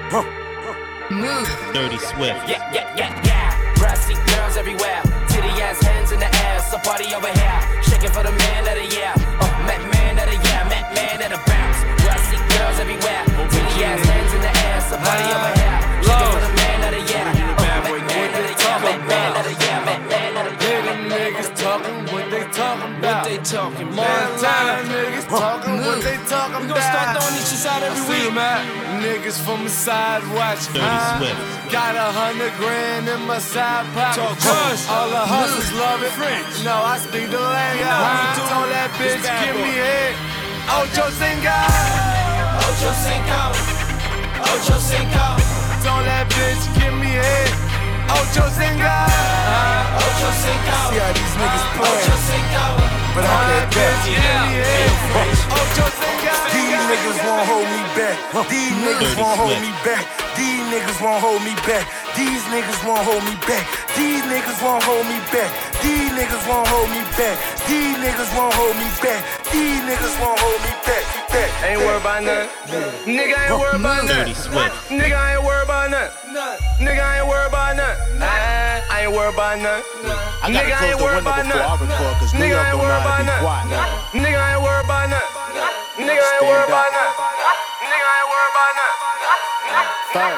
Move. Dirty Swift. Yeah. Brassy girls everywhere. Titty ass hands in the air. So party over here. Shaking for the man of the year. Met man of the year. Met man of the bounce. Brassy girls everywhere. Titty ass hands in the air. So party over here. Shaking for the man of the year. Met man of the year. Met man of the year. Met man of the year. Niggas talking what they talking about. What they talking about? Montana niggas talking what they talking We about. gon' start throwing these shits out every week. Niggas from the side watching. Dirty Swift. Got $100 grand in my side pocket. Talk crush. All the hustlers love it. French. No, I speak the language. we do. Told that bitch, This bad give boy. me head. Ocho Cinco. Ocho Cinco. Ocho Cinco. Told that bitch, give me head. Ocho Cinco. Ocho Cinco. See how these niggas Ocho playing, Cinco. but I Told that can't bitch, back. give me head. Ocho Cinco. These niggas won't hold me back. These niggas won't hold me back. These niggas won't hold me back. These niggas won't hold me back. These niggas won't hold me back. These niggas won't hold me back. These niggas won't hold me back. These niggas won't hold me back. Ain't worried about nothing. Nigga ain't worried about Dirty nothing. Swift. Nigga ain't worried about nothing. Nigga ain't worried about nothing. I ain't worried about nothing. I gotta Nigga close ain't the worried window about before I nothing. record, cause New Nigga York ain't don't know worried how about to be quiet. nothing. Nigga ain't worried about nothing. Nigga ain't worried about nothing. Nigga ain't worried about nothing.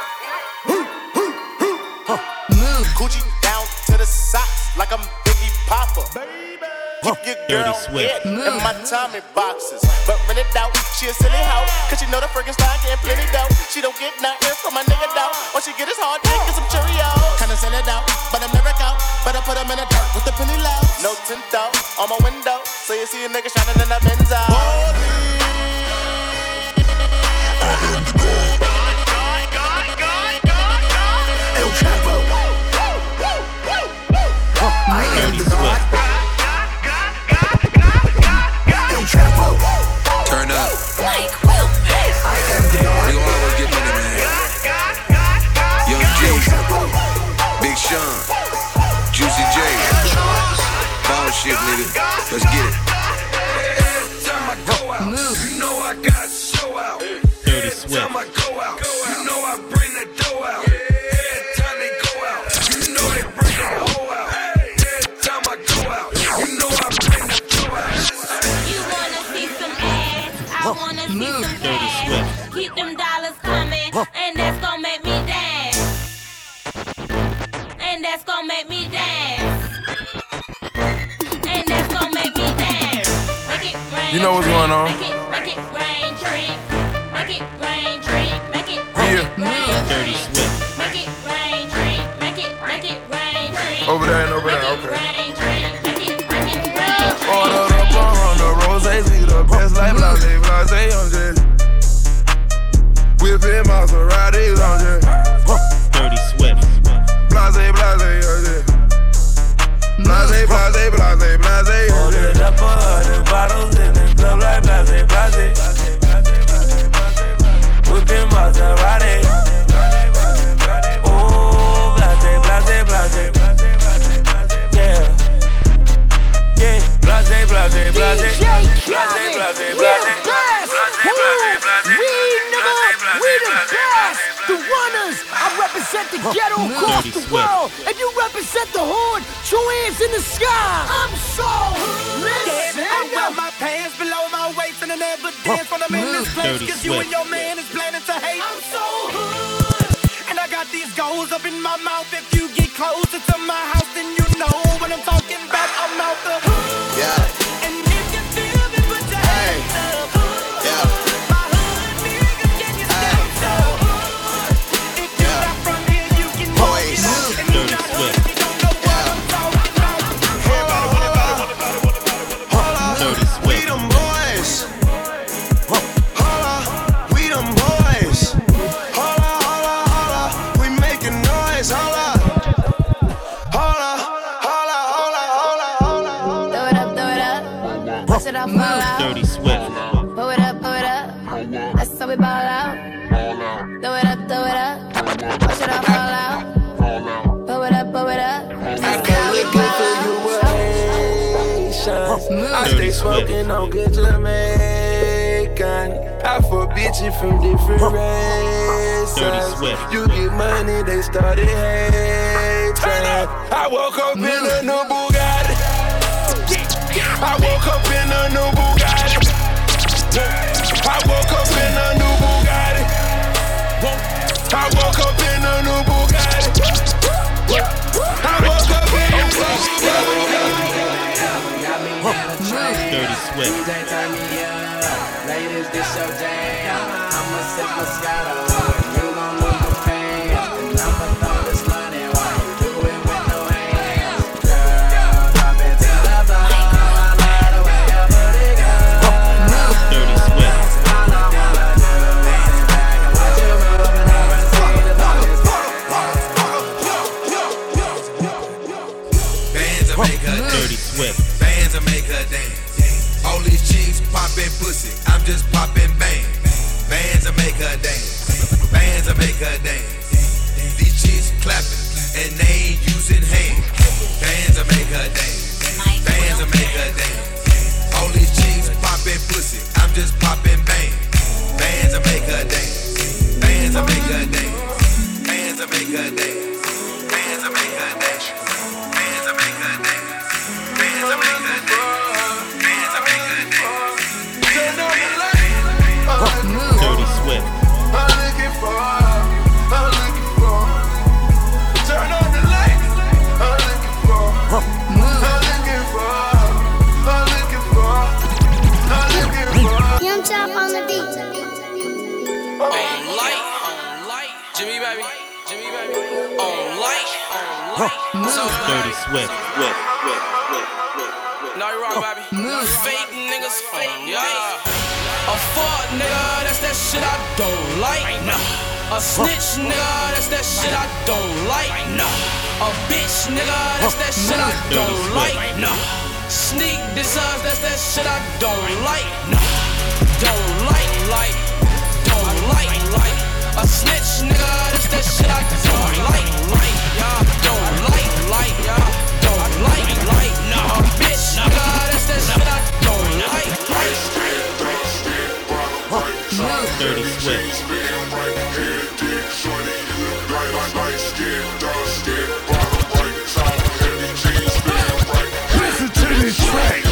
Move. Gucci down to the socks like I'm Biggie Popper. Keep your girl Dirty Swift. head in my Tommy boxes. But rent it out, she a silly hoe. Cause she know the freaking style getting plenty dough. She don't get nothing from my nigga though. All she get is hard dick and some Cheerios. Kinda send it out, but I'm never out. Better put 'em in the dirt with the penny low. No tint out on my window. So you see a nigga shining in the Benzo. Dirty Swift. Turn up. Mike Wilmer. We gon' always get money, man. Young G, Big Sean, Juicy J. Ball shit, nigga. Let's get it. Move. You know I got show out. Dirty Swift. Time I go out, you know I bring the dough out. Every time they go out, you know they bring the hoe out. Every time I go out, you know I bring the dough out. You wanna see some ass? I wanna see Move. some Dirty cash. Swift. Keep them dollars coming, and that's gonna make me dance. And that's gonna make me dance. And that's gonna make me dance. Make it rain. You know what's going on. Make it rain, drink. Make it rain, drink. Make it Yeah. rain, Dirty drink. Swift. Make it rain, drink. Make it rain, drink. Over there and over there, Make it okay. rain, drink. Make it rain, Ordered drink. up on the roses, we the best like blase, blase, I'm just whipping Maseratis, I'm just Dirty Swift. blase, blase, I'm just blase, blase, blase, blase. Ordered up 100 bottles in the club like blase, blase, whipping Maserati. Oh, blase, blase, blase, yeah. Yeah, blase, blase, blase, blase, blase, blase, We the best, the runners. I represent the ghetto across Dirty the Swift. world. If you represent the hood, two hands in the sky. I'm so listen. I wear my pants below my waist and I never dance when I'm in this place. Dirty Cause you Swift. and your man is planning to hate. I'm so hood. And I got these goals up in my mouth. If you get closer to my house, then you know what I'm talking about. I'm out the hood. Yeah. And if you feel me, put your hands up. Yeah. My hood nigga, can you stand so hood? If you're not from here, you can walk it out. And you're not hood, you don't know what I'm talking about. Dirty We Swift. them boys. Holla, we them boys. Holla, holla, holla, we making noise. Holla, holla, holla, holla, holla, holla. Throw it up, push it up, fall out. Dirty Swift. Pull it up, that's how we ball out. Throw it up, push it up, fall out. Pull it up, that's how we ball out. I stay smoking on good Jamaican. I fuck bitches from different races. signs. Swift. You get money, they started hating. I woke up in a new Bugatti. I woke up in a new Bugatti. I woke up in a new Bugatti. I woke up in a new Bugatti. I woke up in a new Bugatti. Dirty Swift. DJ turn me up. Ladies, this your jam. I'ma sip Moscato. You gon' lose the pain. And I'ma throw this money while you do it with no hands. Girl, drop it to the floor. I love the way you put it, girl. Dirty Swift. All I wanna do is sit back and watch you move and never see the darkness. Bands will make her Dirty dance. Swift. Bands will make her dance. All these chicks poppin' pussy, I'm just poppin' bang. Bands will make her dance. Bands will make her dance. These chicks clapping and they ain't using hands. Bands will make her dance. Bands will make her dance. All these chicks poppin' pussy, I'm just poppin' bang. Bands will make her dance. Bands will make her dance. Bands will make her dance. Bands will make her dance. Bands will make her dance. Bands will make her dance. Dirty Swift. I'm looking for. Turn on the lights. I'm looking for. I'm looking for. Young Chop on the beat. On light, Jimmy baby, on light, Dirty Swift. No, you wrong, baby. Fake niggas, yeah. A fuck nigga, that's that shit I don't like. A snitch nigga, that's that shit I don't like. A bitch nigga, that's that shit I don't like. Sneak this us, that's that shit I don't like. Don't like. A snitch nigga, that's that shit I don't like. Don't like, don't like. A bitch nigga, that's that shit I don't like. Dirty Swift. Listen to this track,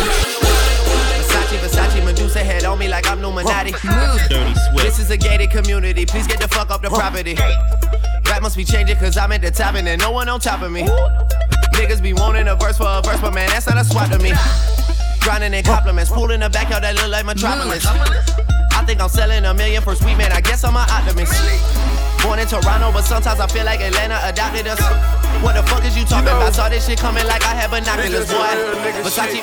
Versace, Medusa head on me like I'm Illuminati. Dirty This Swift. is a gated community, please get the fuck up the property. Rap must be changing cause I'm at the top and there's no one on top of me. Niggas be wanting a verse for a verse, but man, that's not a swap to me. Grinding in compliments, pool in the backyard that look like Metropolis. I think I'm selling $1 million for sweet man, I guess I'm an optimist. Born in Toronto, but sometimes I feel like Atlanta adopted us. What the fuck is you talking about? Saw this shit coming like I had binoculars, boy. Versace.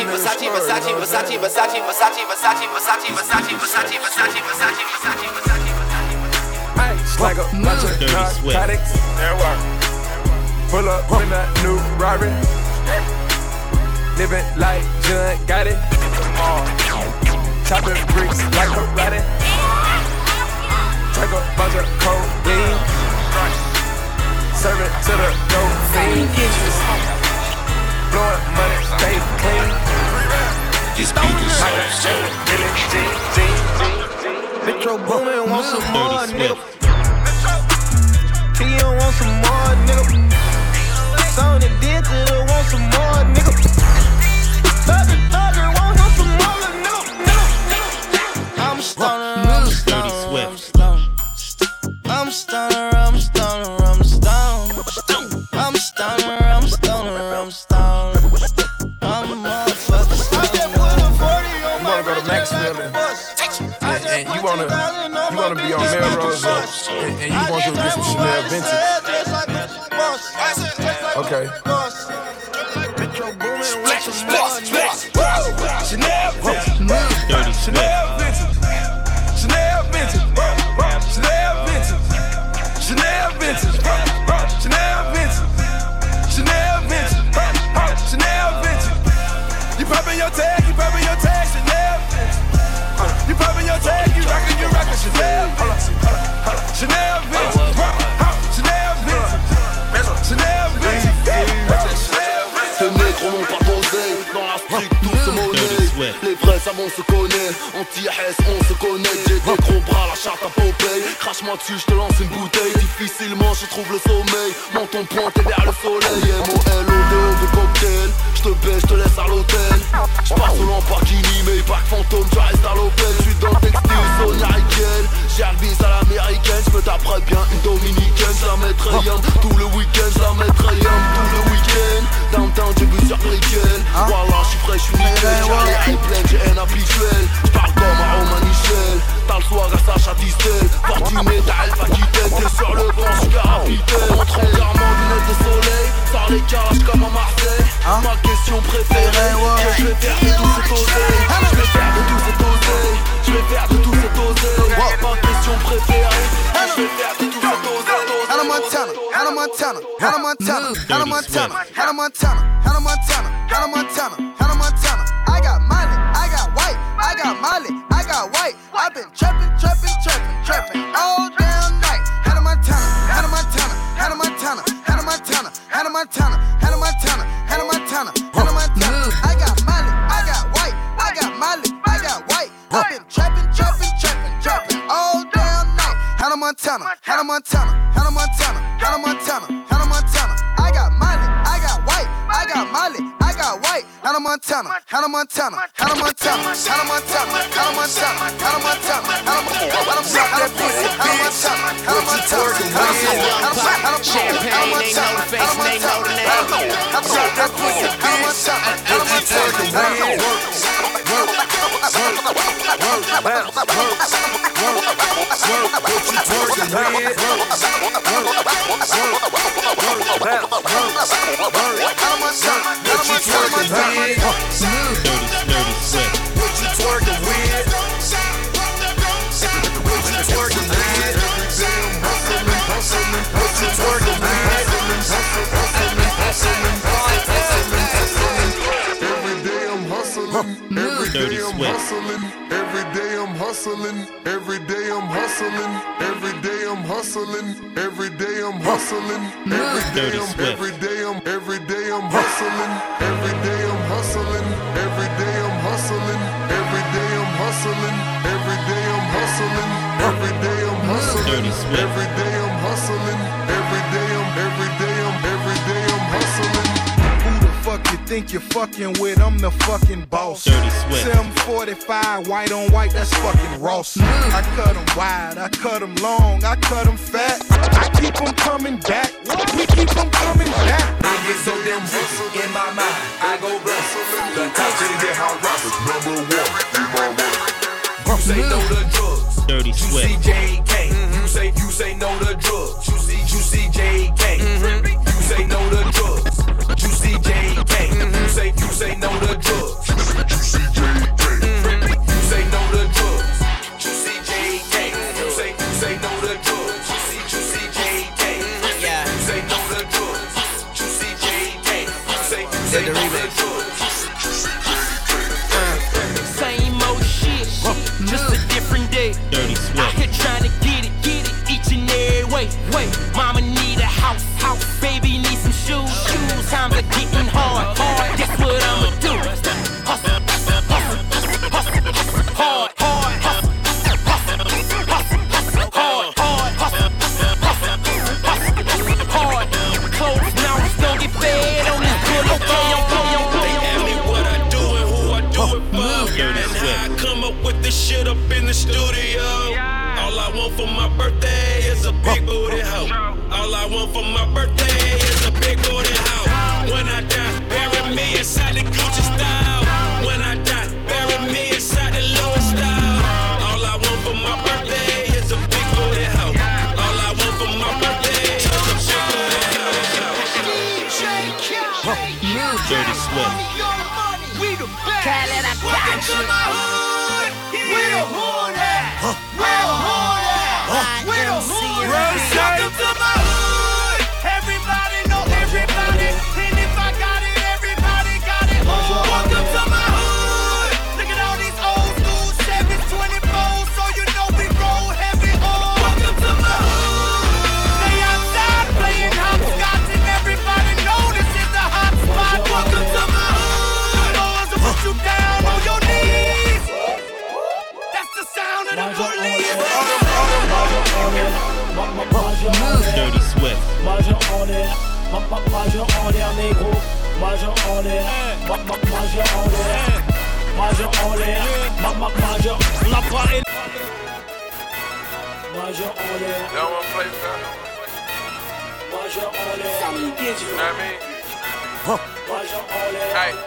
Ice like a bunch of narcotics. Pull up in a new Rari. Living like John got it. Chopping bricks like karate. Take a bunch of codeine. Serve it to the dope fiend. Blowing money, stay clean. This beat is so Metro Boomin want some more, Dirty nigga. Swift. He don't want some more, nigga. Sony Digital want some more, nigga. Thugger want some more, nigga. I'm stoner, Dirty Swift. I'm stoner. I'm a motherfucker. You wanna go to Maxwell and you wanna be on Melrose and you want to get some Chanel vintage. Okay. Chanel vintage. Dirty Swift. You poppin' your tag, Chanel vintage. You poppin' your tag, you rockin' Chanel vintage. Chanel vintage. Chanel vintage. Ces négros n'ont pas d'oseille, dans la street tout se monnaie. Les vrais savants se connaissent, anti-Hess on se connaît. J'ai des gros bras, la charte à Popeye. crache-moi dessus, je te lance une bouteille. Difficilement je trouve le sommeil, menton pointé vers le soleil. M-O-L-O-D-O de cocktail, je te baisse, je te laisse à l'hôtel. Je passe au Lamborghini, mais pas que fantôme, tu restes à l'hôtel. Je suis dans le textile, Sonia Riquel. J'ai un bis à l'américaine, je me taperai bien une dominicaine. Je la mettrai yum, tout le week-end, je la mettrai yum, tout le week-end. Downtown, j'ai vu sur Brickell. Wallah, je suis frais, je suis nickel. J'ai les airplanes, j'ai un habituel. J'parle comme un Romain Michel. T'as le soir à Sacha Distel. Fortuné, t'as Alpha Quitaine. T'es sur le banc, j'suis capitaine. Montre entièrement lunettes de soleil. Sors les cages comme à Marseille. Ma question préférée, que je vais faire de tout cet oseille. Je vais faire de tout cet oseille. Je vais faire de tout cet oseille. Ma question préférée, je vais faire de tout cet oseille. Hannah Montana, Hannah Montana, Hannah Montana, Hannah Montana, Hannah Montana, Hannah Montana, Hannah Montana, Hannah Montana. I got Molly, I got white, I got Molly, I got white. I've been trapping, trapping, trapping, trapping all damn night. Hannah Montana, Hannah Montana, Hannah Montana, Hannah Montana, Hannah Montana, Hannah Montana, Hannah Montana, Hannah Montana. I got Molly, I got white, I got Molly, I got white. I've been trapping, trapping, trapping, trapping all damn night. Hannah Montana, Hannah Montana, Hannah Montana, Hannah Montana, Hannah Montana. I got Molly, I got white, I got Molly, I got white. Hannah Montana, Hannah Montana, Hannah Montana, Hannah Montana, Hannah Montana, Hannah Montana, Hannah Montana, Hannah Montana, Champagne, they know the face and they know the name. Dirty Swift. Every day I'm hustling, every day I'm hustling, every day I'm hustling, every day I'm hustling, every day I'm every day I'm hustling, every day I'm hustling, every day I'm hustling, every day I'm hustling, every day I'm hustling, every day I'm hustling, Dirty Swift. every day I'm hustling, every day I'm hustling. Fuck you think you're fucking with, I'm the fucking boss. Dirty Swift. 745, white on white, that's fucking Ross. I cut them wide, I cut them long, I cut them fat. I keep them coming back, we keep them coming back. I get so damn juicy in my mind, I go wrestling. The top to get how Ross number one in my mind. You say no to drugs, Dirty Swift. You see JK, you say no to drugs. You see JK, you say no to drugs. You see JK, you say no to drugs. You see JK, you say no to drugs. You see JK, you say no to drugs. You see JK, you say no to drugs. You see JK, you say no to drugs. Same old shit, just a different day. Dirty Swift. Out here trying to get it each and every way. Mama need a house, baby need some shoes. Times are getting hard. Guess what I'ma do? Hustle, hard, hard. Close mouths don't get fed on this bullet. They ask me what I do and who I do it for, and how I come up with this shit up in the studio. All I want for my birthday is a big booty hoe. All I want for my birthday is a big booty hoe. When I die, bury me inside the Gucci style. When I die, bury me inside the Louis style. All I want for my birthday is a big booty hoe. All I want for my birthday is a big booty hoe. Dirty Swift. We the best. Khaled, I got Welcome to you. my hood. Where the hood at? Where the hood at? Where the hood at? Welcome to my hood. Everybody know everybody. And if I got it, everybody got it. Welcome to my hood. Look at all these old school 724s, so you know we roll heavy. Welcome to my hood. They outside playing hopscotch, and everybody know this is the hot spot. Welcome to my hood. The boys will put you down on your knees. Majeur en l'air, négro. Majeur en l'air. Majeur en l'air. Majeur en l'air. Majeur. On n'a pas élevé. Majeur en l'air. Y'all wanna play that? Majeur en l'air. You know what I mean? Majeur en l'air. Hey.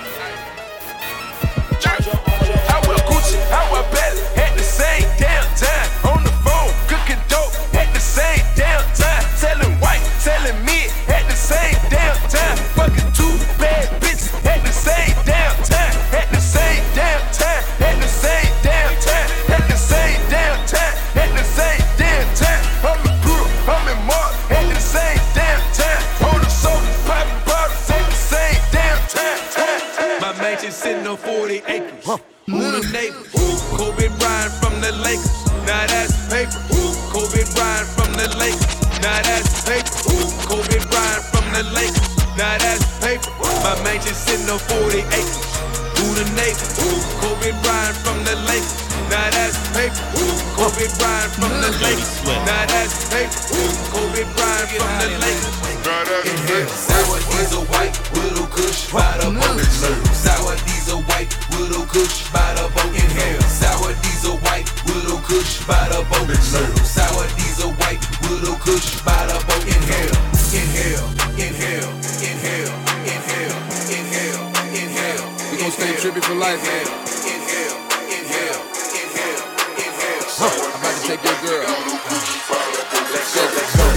I wear Gucci, I wear Belly at the same damn time. On the phone, cooking dope at the same damn time. Selling white, selling mid at the same damn time. Fucking two bad bitches at the same damn time. At the same damn time. At the same damn time. At the same damn time. At the same damn time. I'm in Brew, I'm in Mark at the same damn time. Holding sodas, popping bottles at the same damn time. My mansion sitting on 40 acres. Who the neighbors? Kobe Bryant from the Lakers. Now that's paper. Kobe Bryant from the Lakers. Now that's paper. Kobe Bryant from the Lakers. Now that's paper. My mansion sitting on 40 acres. Who the neighbors? Kobe Bryant from the Lakers. Now that's paper. Kobe Bryant from the Lakers. Now that's paper. Kobe Bryant from the Lakers. Inhale. Sour diesel white, little kush, by the boat. Sour diesel white, little kush, by the boat. Inhale. Sour diesel white, little kush, by the boat. Sour diesel white, little kush, by the boat. Inhale. Inhale. Inhale. Inhale. Inhale. Inhale. Inhale. We gon' stay trippy for life, man. Inhale. Inhale. Inhale. Inhale. I'm about to take your girl. Let's go.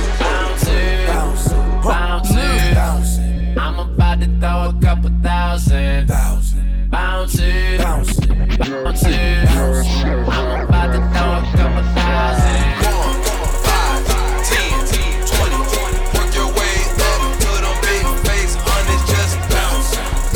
Bounce. I'm about to throw a couple thousand. Bounce. I'm about to throw a couple thousand. 1, 5, 10, 20. Work your way up to them big face hundreds. Just bounce.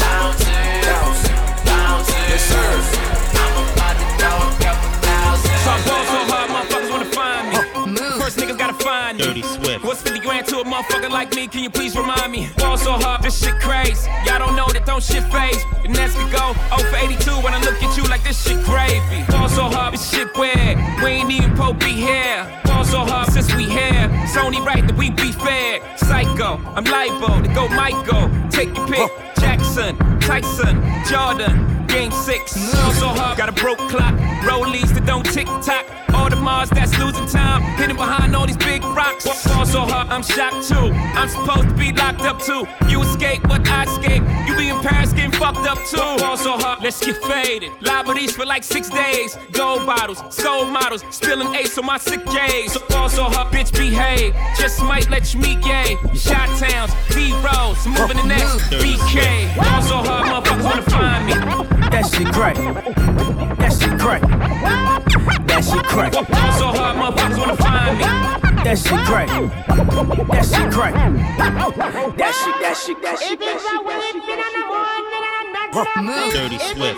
Yes, sir. I'm about to throw a couple thousand. So I ball so hard, motherfuckers wanna find me. First niggas gotta find me. Dirty Swift. What's 50 grand to a motherfucker like me? Can you please remind me? Ball so hard, this shit crazy. Y'all don't know that don't shit phase. The next we go 0 for 82 when I look at you like this shit gravy. Ball so hard, this shit weird. We ain't even po be here. Ball so hard since we here. It's only right that we be fair. Psycho, I'm libo to go Michael. Take your pick. Jackson, Tyson, Jordan. Game 6. Ball so hard, got a broke clock. Rollies that don't tick tock. All the Mars that's losing time, hidden behind all these big rocks. Fall so hard, I'm shocked too. I'm supposed to be locked up too. You escape, but I escape. You be in Paris getting fucked up too. Fall so hard, let's get faded. Liberties for like 6 days. Gold bottles, soul models, spilling ace on my sick days. So fall so hard, bitch, behave. Just might let you meet gay. Shot towns, B-rolls, moving the next BK. Fall so hard, motherfuckers wanna find me. That shit crack. That shit crack. That shit crack. Fall so hard, motherfuckers wanna find me. That shit crack. That shit crack. That shit. Dirty Swift.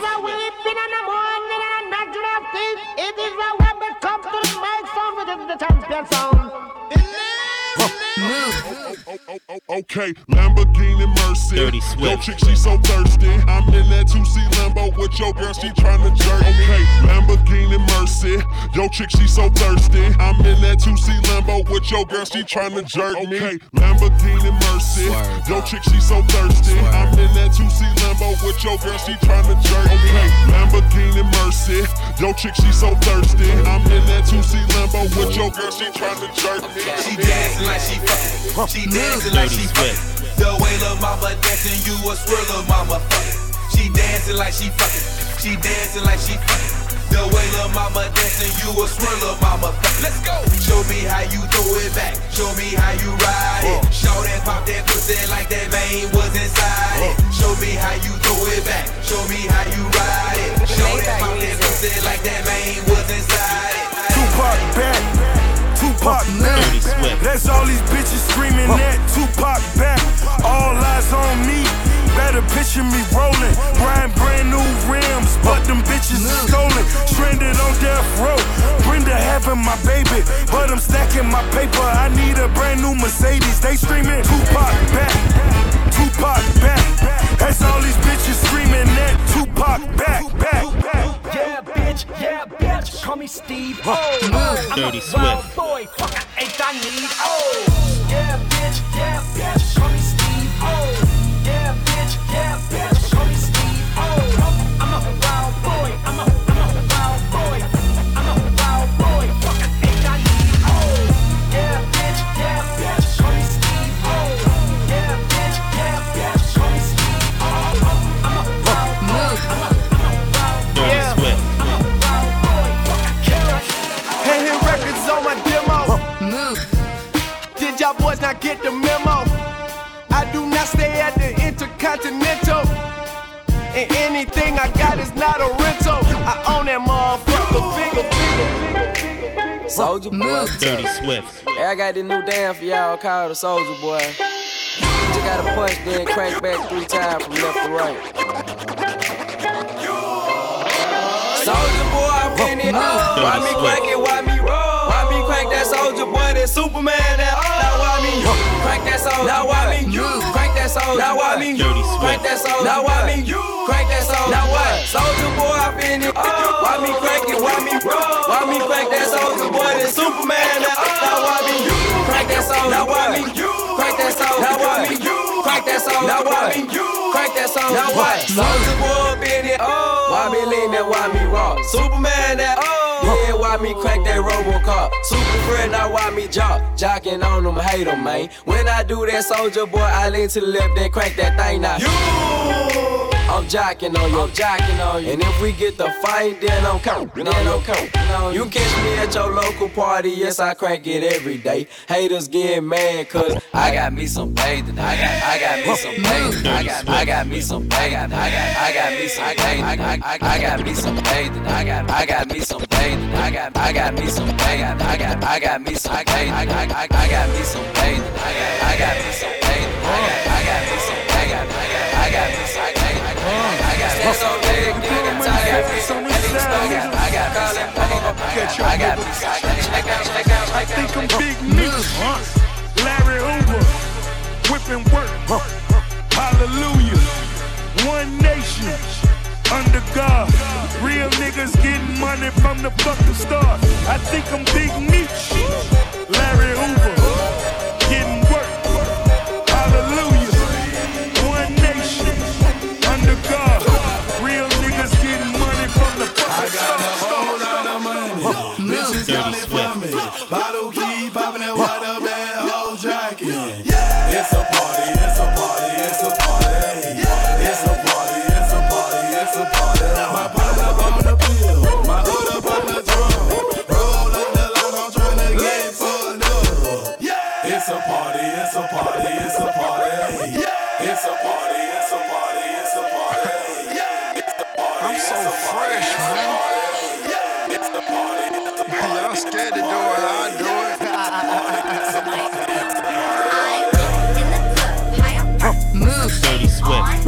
Okay, Lamborghini Mercy. Dirty Swift. Yo, chick, she so thirsty. I'm in that 2C Lambo with your girl, she tryna jerk. Okay, Lamborghini Mercy. Yo, chick, she so thirsty. I'm in that 2C Lambo with your girl, she tryna jerk me. Okay, Lamborghini Mercy. Yo, chick, she so thirsty. I'm in that 2C Lambo with your girl, she tryna jerk me. Okay, Lamborghini Mercy. Yo, chick, she so thirsty. I'm in that 2C Lambo with your girl, she tryna jerk me. She dancing like she fucking. She dancing like she fucking. The way lil' mama dancing, you a swirl, lil' mama fucking. She dancing like she fucking. She dancing like she fucking. The way lil' mama dancing, you a swirl, lil' mama fucking. Let's go. Show me how you throw it back. Show me how you ride it. Show that pop that pussy like that vein was inside it. Show me how you throw it back. Show me how you ride it. Show that pop that pussy like that vein was inside it. Tupac back. Tupac now. That's all these bitches screaming at Tupac back. All eyes on me. Better picture me rolling. Riding brand new rims, but them bitches is stolen. Stranded on death row. Brenda having my baby, but I'm stacking my paper. I need a brand new Mercedes. They screaming Tupac back. Tupac back. That's all these bitches screaming at Tupac back. Yeah, bitch, call me Steve. I'm Dirty a Swift. wild boy, fuck, ain't I need. Oh, yeah, bitch, y'all boys not get the memo. I do not stay at the Intercontinental, and anything I got is not a rental. I own that motherfucker, bigger. Soulja Boy. Dirty Swift. Hey, I got this new dance for y'all called the Soulja Boy. You just gotta punch, then crank back 3 times from left to right. Soulja Boy, I'm in it. Why me crank it? Why me roll? Why me crank that Soulja Boy? That Superman that. Now why me crank that Soulja? Now why me crank that Soulja? Now why me crank that Soulja? Now why me crank that Soulja? Now what? Soulja Boy, I'm in it. Why me crank it? Why me roll? Why me crank that Soulja Boy? That Superman that. Now why me crank that Soulja? Now why me crank that Soulja? Now why me crank that Soulja? Now why me crank that Soulja? Now what? Soulja Boy, I'm in it. Why me lean that? Why me rock? Superman that. Yeah, why me crank that RoboCop? Super friend, now why me jocking on them, hate them, man. When I do that Soulja Boy, I lean to the left, then crank that thing now. I'm jocking on you, And if we get the fight, then I'm counting, You catch me at your local party, yes, I crank it every day. Haters get mad, cause I got me some bathing. I got me some bathing. I got me some bathing. I got me some bathing. I got me some bathing. I got me some bathing. I got me some bathing. I got me some bathing. I got me some bathing. I got me some bathing. I got me some bathing. I got me some bathing. I think I'm Big Meech, Larry Hoover, whipping work, hallelujah, one nation, under God, real niggas getting money from the fucking start. I think I'm Big Meech, Larry Hoover, getting work, hallelujah, one nation, under God, real niggas getting money from the fucking start. I got a whole lot of money, bitches got it for me. Bottle keep popping that water, man, whole jacket. Yeah, it's a party, it's a party, it's a party. It's a party, it's a party, it's a party. My pot up on the pill, my hood up on the drum. Roll up the line, I'm trying to get fucked up. Yeah, it's a party, it's a party, it's a party. It's a party, it's a party, it's a party. I'm so fresh, man. Y'all scared to do it, I'll do it. Move. Dirty Swift.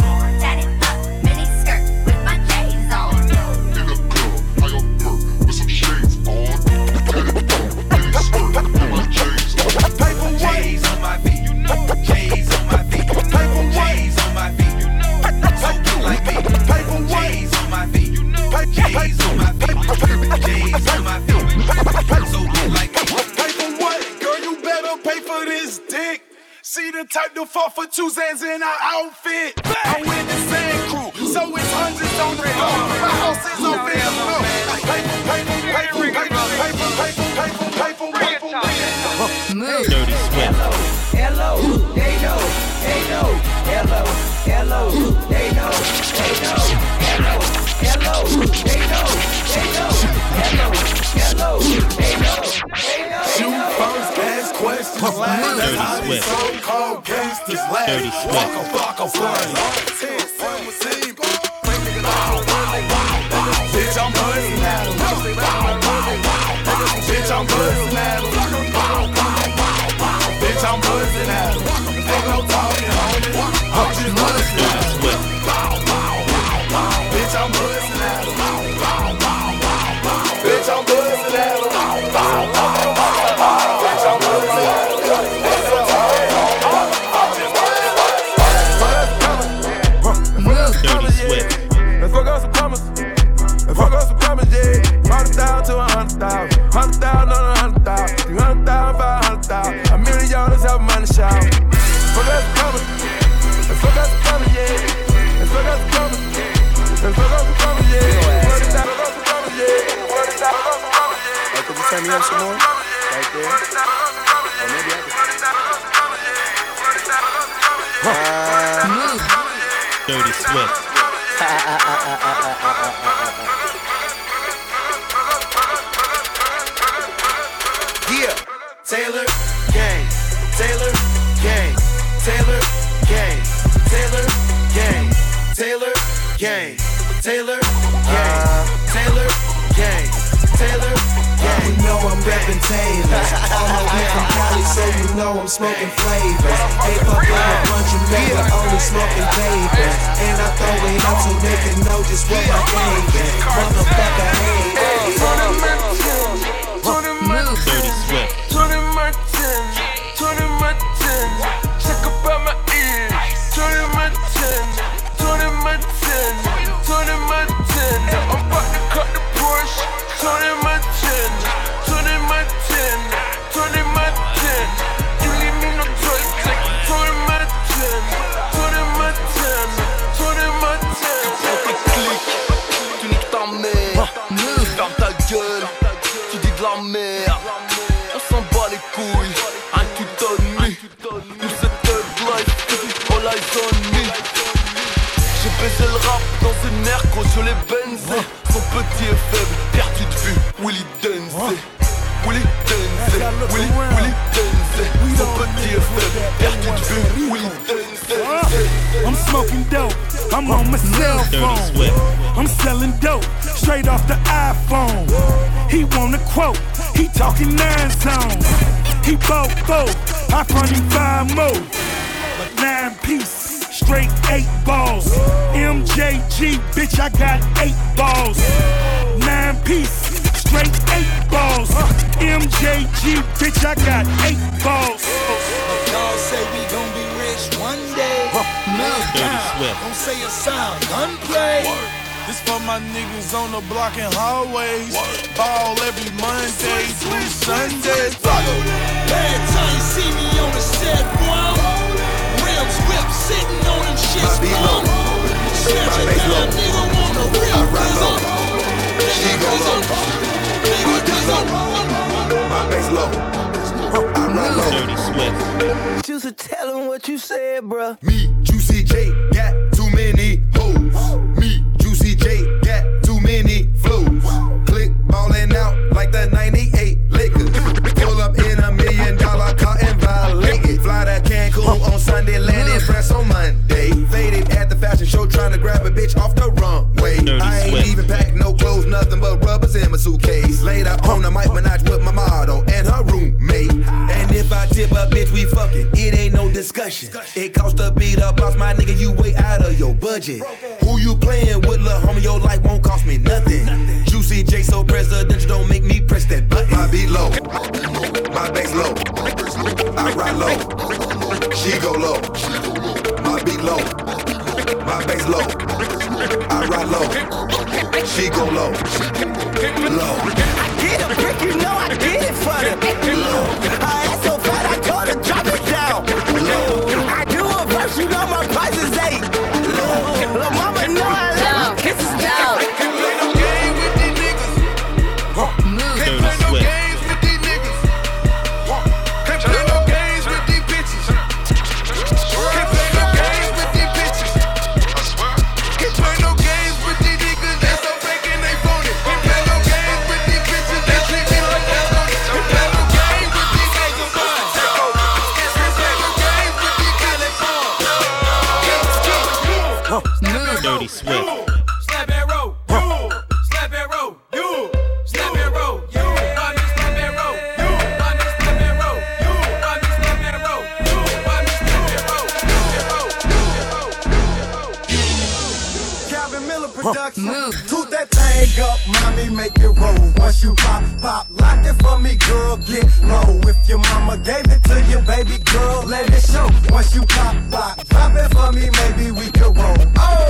See the type to fall for 2 cents in our outfit. I'm with the same crew, so it's hundreds on the floor. My house is on Facebook. Move. Dirty Swift. Hello, they know, hello, hello, they know, hello, they know, hello, they know. Shoot first, ask questions last. That's how these so-called gangsters last. Walk a flame. Bitch, I'm buzzing at 'em. Bitch, I'm buzzing at 'em. Bitch, I'm buzzing at 'em. Ain't no talking, homie. I'm just buzzing at 'em. Bitch, I'm buzzing at 'em. Bitch, I'm buzzing at 'em. Let's fuck up some commas. Let's fuck up some commas, yeah. 100,000 to 100,000. 100,000 on 100,000. 300,000, 500,000. $1 million help money shout. Fuck up some commas. Let's fuck up some commas, yeah. Let's fuck up some commas. Let's fuck up some commas, yeah. Fuck up some commas, yeah. Hey, could you turn me up some more? Right there. Or maybe I can. Dirty Swift. Yeah, Taylor, gang, Taylor Gang, Taylor Gang, Taylor Gang, Taylor Gang, Taylor Gang, Taylor Gang, Taylor Gang. You know I'm reppin' Taylors. All my weed from Cali, so you know I'm smoking flavors. Ain't fucking a bunch of men, but only smoking papers. And I throw it out so they can know just what my game is. Motherfucker, hey. Dirty Swift. Tony Martin, check up out my ears. Tony Martin, I'm about to cut the Porsche. Tony Martin, you leave me no choice. Take Tony Martin. Tu niques ta mère, ferme ta gueule, tu dis de la merde. On s'en bat les couilles, un tu donnes me. Tout cette life, all eyes on me. J'ai baisé le rap dans une air gros sur les benzés. Son petit et faible, perdu de vue, Willy Denzé. Willy Denzé, Willy Denzé. Son petit et faible, perdu de vue, Willy Denzé. I'm smoking dope, I'm on my cell phone. I'm selling dope, straight off the iPhone. He want a quote, he talking 9 zones. He bought 4, I front him 5 more. 9 piece, straight 8 balls. MJG, bitch, I got 8 balls. 9 piece, straight 8 balls. MJG, bitch, I got 8 balls. Y'all say we gon' be rich one day. Dirty Swift. Don't say a sound, gunplay. This for my niggas on the block and hallways. Ball every Monday through Sunday. Bad time see me on the set, boy. Rims whip sitting on them shits, boy. Snatch a dime, nigga want the real prison. She go low. My bass low. My bass low. I ride low. Dirty Swift. You should tell him what you said, bruh. Me, Juicy J, got too many hoes. Me, Juicy J, got too many flows. Click ballin' out like the 98 Lakers. Pull up in $1 million car and violate it. Fly to Cancun on Sunday, land in France on Monday. Faded at the fashion show, trying to grab a bitch off the runway. I ain't even packing no clothes, nothing but rubbers in my suitcase. Later on the Mike Minaj with my model and her roommate. And if I tip a bitch, we fucking. It ain't no discussion. It cost a beat up, boss my nigga, you way out of your budget. Who you playing with, lil' homie? Your life won't cost me nothing. Juicy J so presidential, don't make me press that button. My beat low, my bass low. I ride low, she go low. My beat low, my bass low. I ride low, she go low. Low. I get a brick, you know I did it for them. I ass so fat, I told her drop it down. I do a verse, you know my price is 8. Lil' mama know I love kisses down. Can't play no game with these niggas. Can't play no games with these niggas. Can't play no games with these bitches. Can't play no games with these bitches. Can't play no games with these niggas. They so fake and they phony. Can't play no games with these bitches. They treat me like that's on it. Can't play no games with these niggas. Can't play no games with these California. Dirty Swift. Slap and roll, you. Slap and roll, you. Slap and roll, you. Why me slap and roll, you. Why me slap and roll, you. Why me slap and roll, you. Why me slap and roll, Calvin Miller production. Toot that thing up, mommy, make it roll. Once you pop, lock it for me, girl, get low. If your mama gave it to you, baby girl, let it show. Once you pop, drop it for me, maybe we could roll. Oh!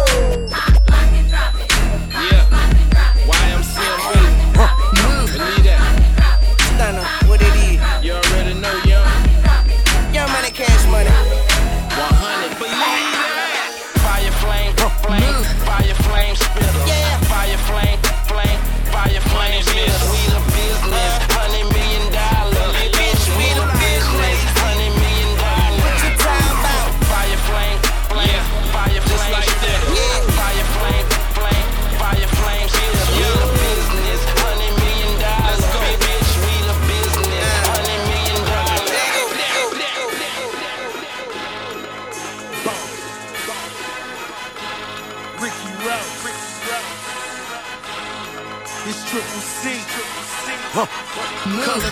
Yeah. YMCMB. Believe that. Stunner, what it is? You already know, young. Young money, cash money. 100. Believe that. Fire flame, fire flame spitter. Yeah. Fire flame, fire flame spitter. We the business, $100 million. Bitch, we the business, $100 million. What you time about? Fire flame.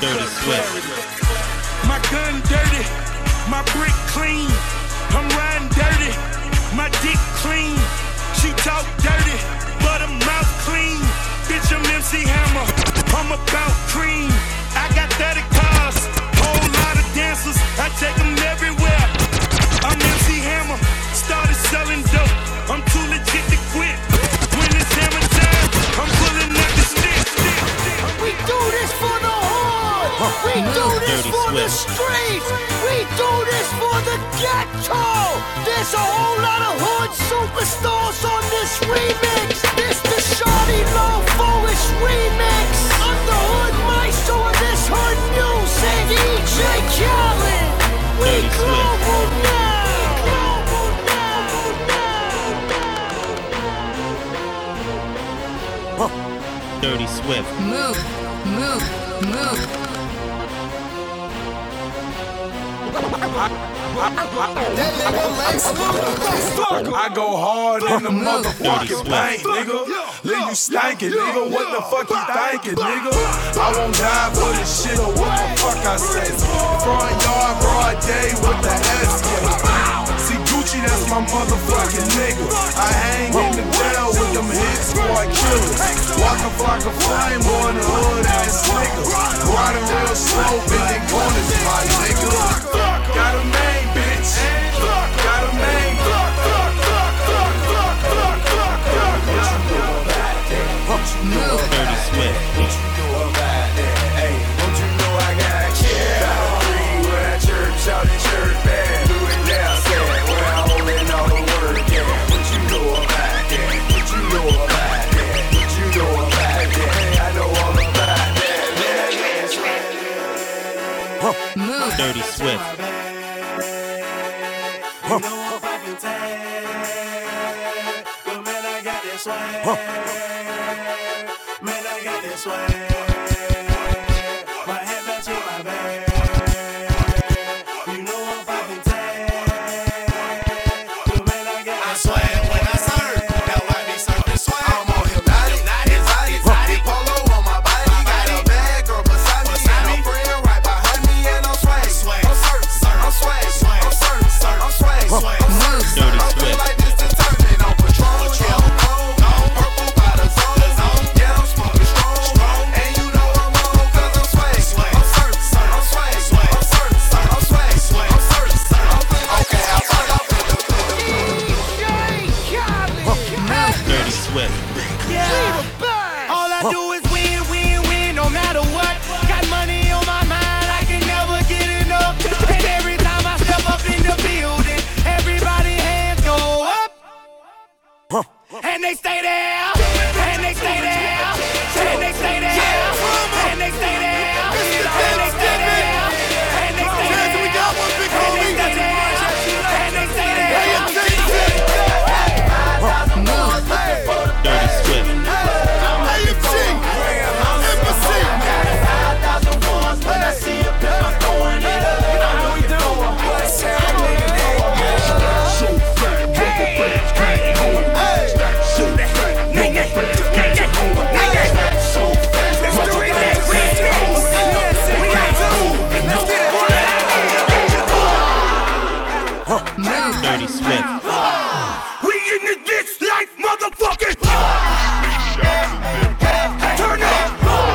Dirty Swift. My gun dirty, my brick clean. I'm riding dirty, my dick clean. She talk dirty, but her mouth clean. Bitch, I'm MC Hammer, I'm about cream. I got 30 cars, whole lot of dancers. I take them everywhere. I'm MC Hammer, started selling dope. I'm too legit to quit. When it's hammer time, I'm pulling up the stick. We do this for the hood. We do this Dirty for the Swift. streets. We do this for the ghetto. There's a whole lot of hood superstars on this remix. This the Shawty Low Forest remix. I'm the hood maestro of this hood music. DJ Khaled. We Dirty Swift. global now. Dirty Swift. Move, move, move. I go hard in the motherfucking paint, nigga. Leave you stankin', nigga. What the fuck you thinking, nigga? I won't die for this shit or what the fuck I say. Front yard, broad day with the S. See Gucci, that's my motherfucking nigga. I hang in the jail with them hit squad killers. Walk a flock of flame on the hood ass nigga. Riding real slow, bending corners, my nigga. Got a main bitch. Got a main. Move. Dirty Swift. What you know about that? Hey, don't you know I got kids? Where that church out in church band. Do it now, say it. Where I'm holding all the word, yeah. What you know about that? What you know about that? What you know about that? Hey, I know all about that. Move. Dirty Swift. You know I'm fucking tired, but man, I got this swag. Man, I got this swag. My head back to my back. You know I'm fucking tired, but man, I got this swag. When I serve, now I be serving swag. I'm on hypnotic, polo on my body. Got a bad girl beside me, and a friend right behind me, and I'm swag. I'm swag. I'm swag. I'm swag. Dirty Swift. Like this determined on patrol. Purple by the zone. Yeah, I'm smoking strong. And you know I'm on 'cause I'm swag. I'm certain. I'm swag. I'm certain. I'm swag. I'm certain. Okay, I'll fuck up in the Dirty Swift. All I do is win, win, win, no matter what. Got money on my mind, I can never get enough. And every time I step up in the building, everybody hands go up. And they stay there, and they stay there, and they stay there, and they stay there, and they stay there, and they stay there, and they stay there, and they stay there. Move. Dirty Swift. Move. Dirty Swift. We in this bitch like motherfucking. Turn up.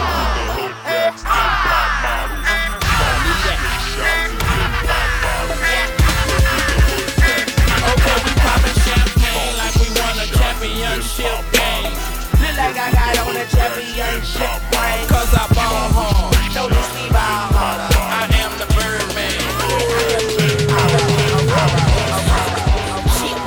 Okay, we poppin' champagne like we won a championship game. Look like I got on a championship ring. 'Cause I ball hard. Notice me ball hard. I am the Birdman.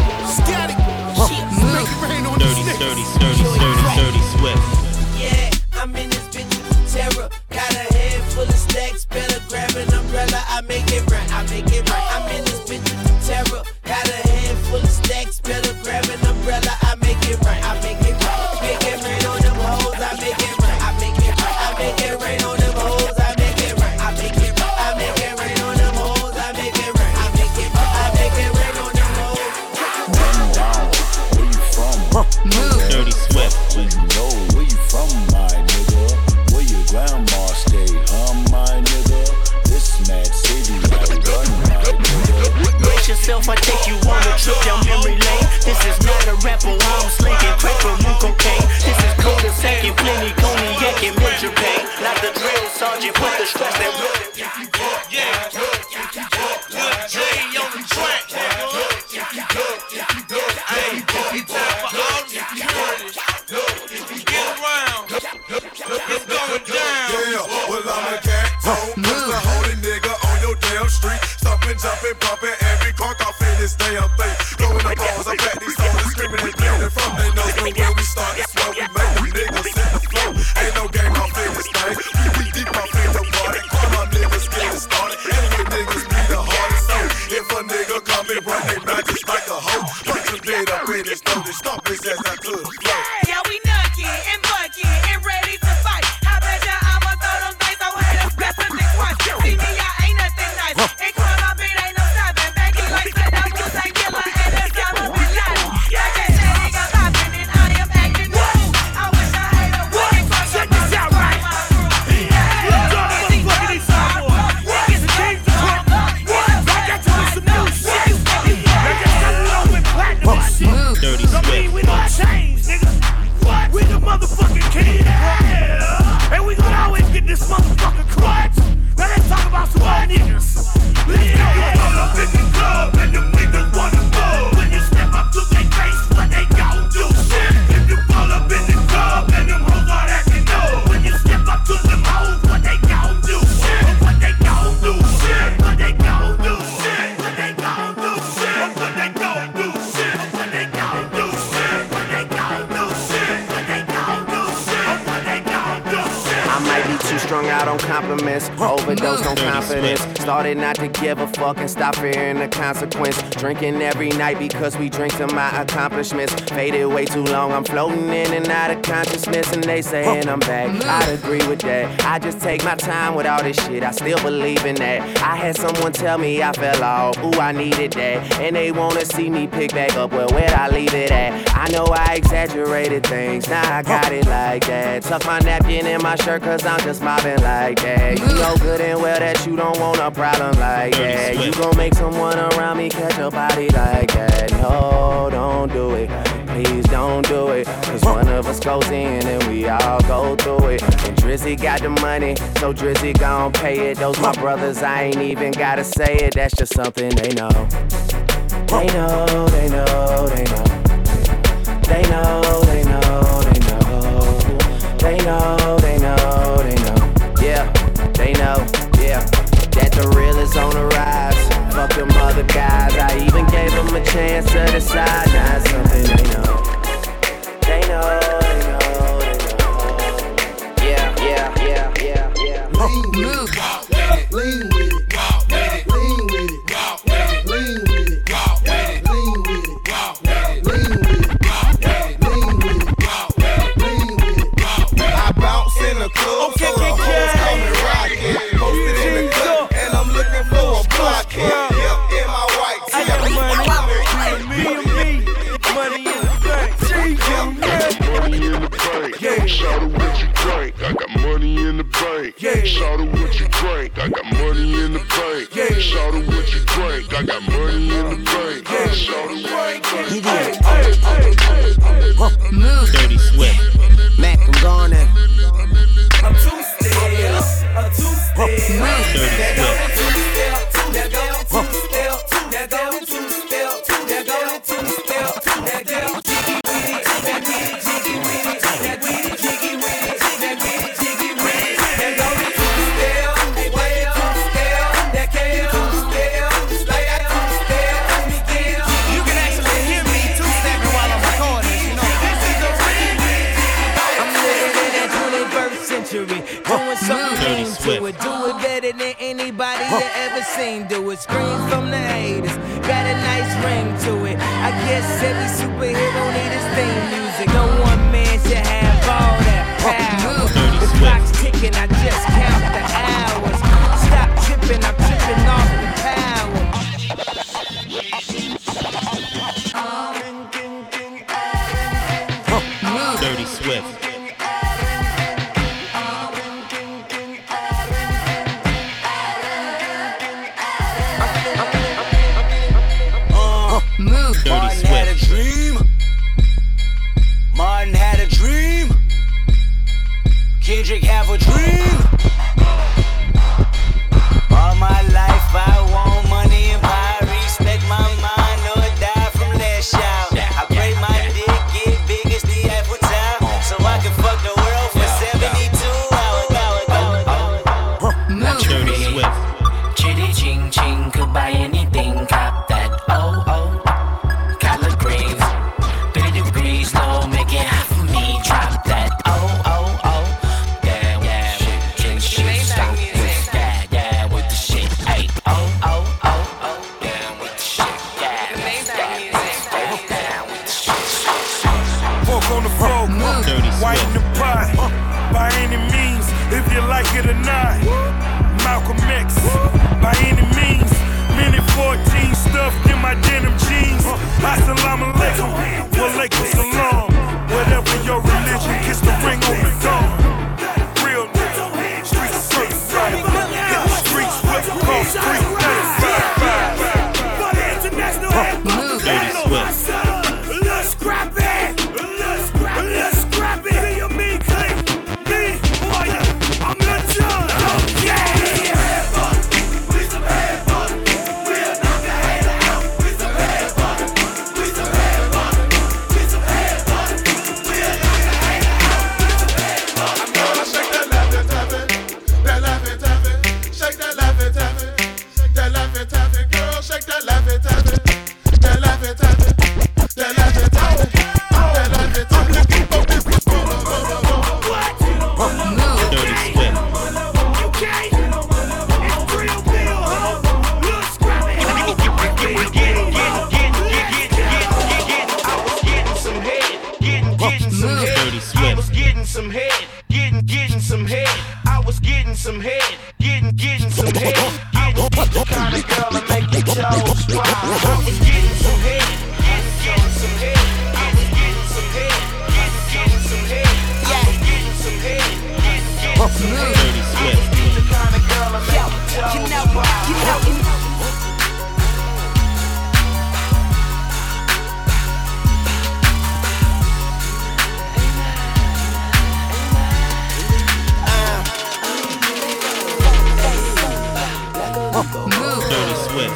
street, stomping, jumping, pumping, every car off in this damn thing. Throwing the balls up at these soldiers, screaming and bleeding from their nose. Know where we start, that's where we make them niggas hit the flow. Ain't no game off in this thing. We deep off in the party. All my niggas getting started. Anyway, niggas be the hardest. So if a nigga come and run they back just like a hoe, punch him dead up in his nose and stomp his ass out to the floor. Yeah, we nucky and bucky and ready to fight. I bet ya I'ma throw them things so haters best to think twice. See me, I ain't nothing nice. And call my beat ain't no stopping. Baggy like said I'm Usain Killer and that's I'ma be lying. I can't say nigga popping and I am acting the fool. I wish I had a way to fuck up this right my Dirty Swift. We don't change, nigga. What? We the motherfucking king. Yeah. And we gonna always get this motherfucking clutch. Now let's talk about some old niggas. Yeah. Pull up in the club and them niggas wanna go. When you step up to their face, what they gon' do? Shit. If you pull up in the club and them hoes are acting up. When you step up to them hoes, what they gon' do? Shit. What they gon' do? Shit. What they gon' do? Shit. What they gon' do? Shit. What they gon' do? Shit. What they gon' do? Shit. What they gon' do? Shit. What they gon' do? Shit. What they gon' do? Shit. I might be too strung out on compliments, overdosed on confidence. Started not to give a fuck and stop fearing the consequence. Drinking every night because we drink to my accomplishments. Faded way too long, I'm floating in and out of consciousness. And they saying I'm back, I'd agree with that. I just take my time with all this shit, I still believe in that. I had someone tell me I fell off, ooh I needed that. And they wanna see me pick back up, well where'd I leave it at? I know I exaggerated things, now I got it like that. Tuck my napkin in my shirt cause I'm just mobbing like that. You know good and well that you don't want a problem like that. You gon' make someone around me catch a body like that. No, don't do it. Please don't do it. Cause one of us goes in and we all go through it. And Drizzy got the money, so Drizzy gon' pay it. Those my brothers, I ain't even gotta say it. That's just something they know. They know, they know, they know. They know, they know, they know. They know, they know, they know. Yeah, they know, yeah. That the real is on the rise. Fuck them other guys. I even gave them a chance to decide. Now it's something they know. They know, they know, they know. Yeah, yeah, yeah, yeah, yeah. Lean with it, lean with it, lean with it, lean with it, lean with it, lean with it, lean with it. I bounce in the club, so the hoes call me rockin'. Posted in the club, and I'm looking for a blockhead. Yep, in my white tee. I got money, money in the bank. Money in the bank. Yeah. Shout out what you drink. I got money in the bank. Yeah. Shout out what you drink. I got money in the bank. Yeah. Shout out what you drink. I got money in the bank. Yeah. Shout out what you drink. Dirty Swift. Mac, I'm gone in. A two-step, a two-step. There go the two-step, there go the two-step, there go the two-step, there go the two-step, there go the jiggy with it, that with it, jiggy with it, that with it, jiggy with it, that with it, jiggy with it. There go the two-step, they way two-step, that came two-step, like that two-step, Miguel. You can actually hear me two-stepping while I'm recording this, you know. This is a remix. I'm living in that 21st century, doing something to it. Do it better than anybody you ever seen. Do it. Scream from the haters, got a nice ring to it. I guess every superhero need his theme music. No one man should have all that power. The clock's ticking, I just count the hours. Stop tripping, I'm tripping off the power. Dirty Swift. Dirty Martin had a Swift. dream. Martin had a dream. Kendrick have a dream. All my life I want money and power. Respect my mind or die from last shout. I pray my dick get big as the Eiffel Tower, so I can fuck the world for 72 hours. Dirty Swift. Chitty ching ching. by any means. Minute 14 stuffed in my denim jeans. Assalamu alaikum, walaikum salam. Whatever your religion, kiss the ring on the dawn. Real nigga, streets certified. Hit the streets with the cross street. Dirty Swift. Let's scrap it. Let's scrap it. Do you mean clean? Me, boy, I'm the judge. Yeah. We some head fun. We'll knock the hater out. We some head fun. We some head fun. We some head fun. We'll knock the hater out. We some head fun. I'm gonna shake that laugh and tap it. That laugh and tap it. Shake that laugh and tap it. That laugh and tap it. Girl, shake that laugh and tap it. That laugh and tap it. That laugh and tap it. That laugh and tap it. Dirty Swift. Okay. It's real deal. Let's scrap it. I was getting some head. Getting some head. Dirty I Swift. was getting some head. Getting some head. I was getting some head. Getting some head. Getting the kind of girl that make your toes fly. I was getting some head. Getting some head. I was getting some head. Getting some head. I was getting some head. Getting some head. Dirty Swift. The kind of girl that make your toes fly. Dirty Swift.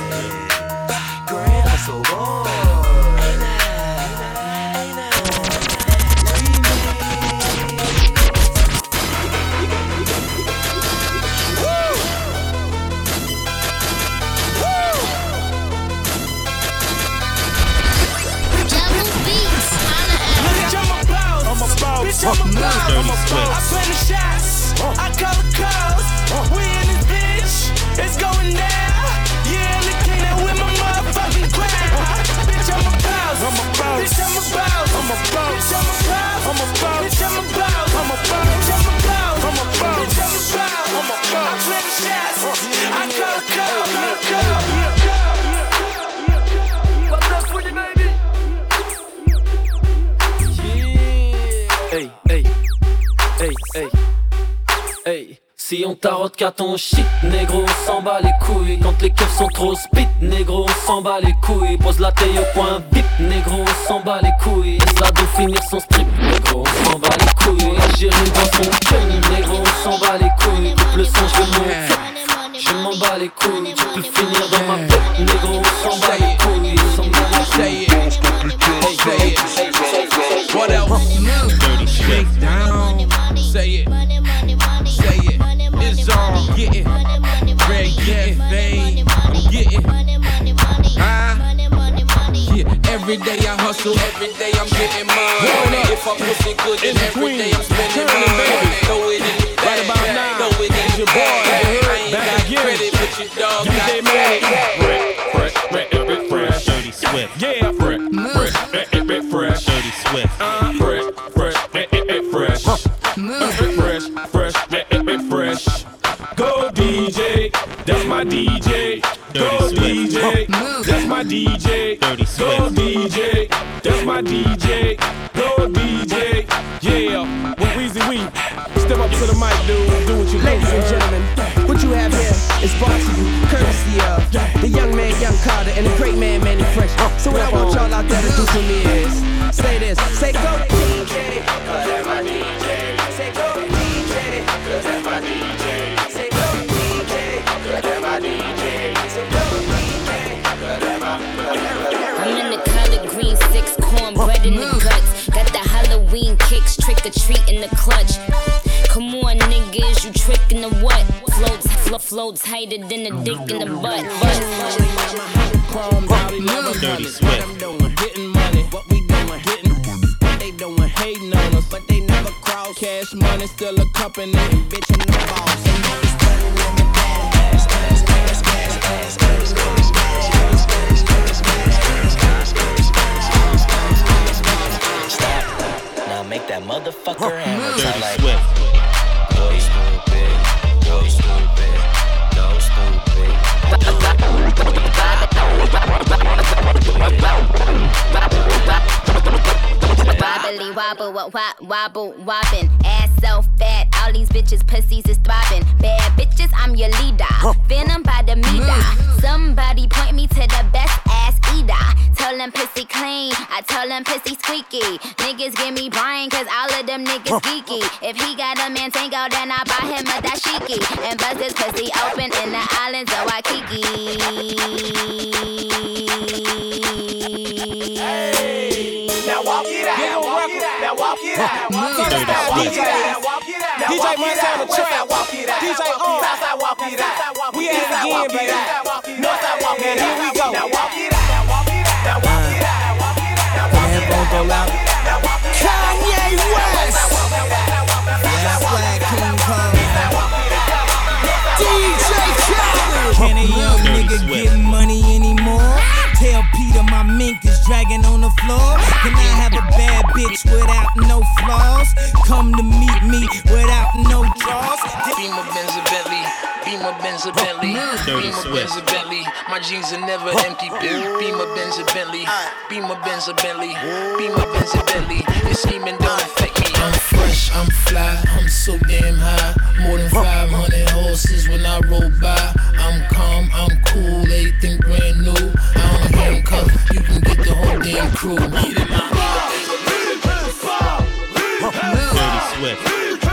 Bitch, I'm a boss. Dirty Swift. I plan the shots. I call the calls. We in this bitch. It's going down. Yeah, look at that with my motherfucking crowd. Bitch, I'm a boss. I'm a boss. Bitch, I'm a boss. I'm a boss. Bitch, I'm a boss. I'm a boss. Bitch, I'm a boss. I'm a boss. Bitch, I'm a boss. I'm a boss. Bitch, I'm a boss. I'm a boss. I plan the shots. I call the calls. What's up for you, baby? Hey, hey, hey, hey, hey. Si on tarote qu'à ton shit, négro, on s'en bat les couilles. Quand les keufs sont trop spit, négro, on s'en bat les couilles. Pose la taille au point vip, négro, on s'en bat les couilles. Laisse la do finir son strip, négro, on s'en bat les couilles. Algérie dans son penny, négro, on s'en bat les couilles. Coupe le son, je je m'en bats les couilles. Tu peux finir dans ma tête, négro, on s'en bat les couilles. On s'en bat les couilles. What else? Dirty Swift. Down. Say it. Say it. It's all getting. Red getting fame. I'm getting. Yeah. Every day I hustle. Every day I'm getting mine. If I'm pushing good, then every day I'm spending mine. Throw it in the bag. Right about now. Throw it in the bag. I ain't got credit, but your dog got credit. Fresh. Dirty Swift. Yeah. Fresh. Dirty Swift. Fresh. Go DJ, that's my DJ. Go DJ, that's my DJ. Dirty Go Swift. DJ, that's my DJ. Go DJ, yeah. Well, Weezy Wee, step up to the mic, dude. Do what you do. Ladies and gentlemen, what you have here is brought to you courtesy of the young man, Young Carter, and the great man, Manny Fresh. So what I want y'all out there to do for me is say this, say go DJ, 'cause that's my DJ. Say go DJ, 'cause that's my DJ. Say go DJ, 'cause that's my DJ. Say go DJ, 'cause that's my I'm in the collard green, 6 cornbread in the guts. Got the Halloween kicks, trick or treat in the clutch. Come on, niggas, you trickin' the what? Floats tighter than a dick in the butt. Dirty Swift. Getting money, what we doing, getting what they doing, hating on us, but they never cross. Cash money still a company, bitch, I'm the boss. Now make that motherfucker hammer sound like Swift. go stupid, go stupid, go stupid. wobble, wobble, wobbin'. Ass so fat, all these bitches pussies is throbbing. Bad bitches, I'm your leader. Venom by the meter. Somebody point me to the best ass eater. Tell them pussy clean, I tell them pussy squeaky. Niggas give me brain, cause all of them niggas geeky. If he got a Mantango, then I buy him a dashiki. And bust his pussy open in the islands of Waikiki. Now walk it out. Now walk it out. Now walk it out. Now walk it out. DJ Montana trap. DJ on. Southside walk it out. We at it again, baby. Northside walk it out. Here we go. Now walk it out. Now walk it out. Now walk it out. Now walk it out. When the headphones go loud. Kanye West. Yeah, Swag King Kong. DJ Khaled. Can a young nigga get money anymore? Tell Peter my mink is dragging on the floor. Can I have a bad bitch without no flaws? Come to meet me without no draws. Beamer Benz a Bentley, Beamer Benz a Bentley, Beamer Benz a Bentley. My jeans are never empty. Beamer Benz a Bentley, Beamer Benz a Bentley, Beamer Benz a Bentley. This scheming don't affect me. I'm fresh, I'm fly, I'm so damn high. More than 500 horses when I roll by. I'm calm, I'm cool, everything brand new. I don't handcuff, you can get the whole damn crew. Get in my Dirty Swift.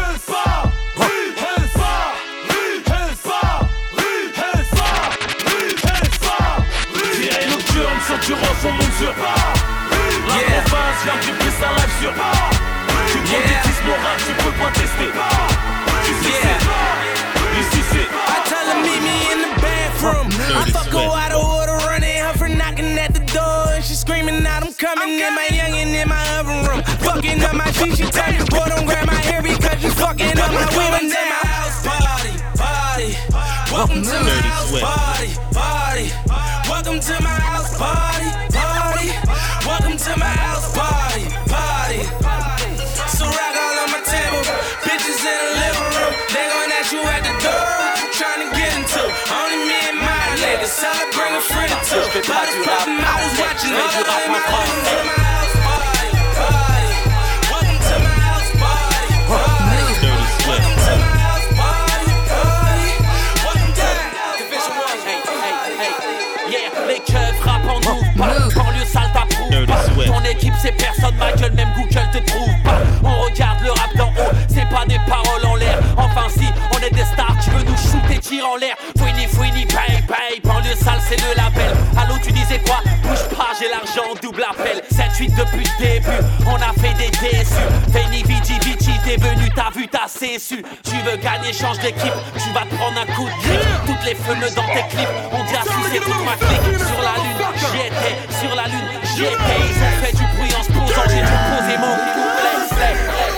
Tu rends son monde sur la province vient du prix un live sur tu banditisme moral, tu peux pas tester. Ici c'est I tell her meet me in the bathroom. I fuck her out of order, running her for knocking at the door. And she screaming out, I'm coming in my youngin' in my oven room. Fucking up my feet, she tell me, boy, don't grab my hair because you fucking up my women. To my house party, party. Welcome to my house party, party. Welcome to my house party, party. Welcome to my house party, party. So rock all on my table, bitches in the living room. They gon' ask you at the door what you tryna get into. Only me and my lady, so I bring a friend or two. But it's poppin', I was watching all of them. Welcome to my house party, party. Welcome to my house party, party. Welcome to my house party, party. Welcome to my house party. Yeah, les keufs rappent en nous pas. Banlieue sale t'approuve pas. Ton équipe c'est personne, ma gueule, même Google te trouve pas. On regarde le rap d'en haut, c'est pas des paroles en l'air. Enfin si, on est des stars, tu veux nous shooter, tire en l'air. Fouini, paye, banlieue sale c'est le label. Allô tu disais quoi? Bouge pas, j'ai l'argent, double appel. 7-8 depuis le début, on a fait des déçus. Veni Vici, t'es venu, t'as vu, t'as cessu. Tu veux gagner, change d'équipe, tu vas te prendre un coup de griffe. Toutes les feneux dans tes clips, on dit assis c'est toute ma clique. Sur la lune, j'y étais, sur la lune, j'y étais. Ils ont fait du bruit en se posant, j'ai dû poser mon couplet.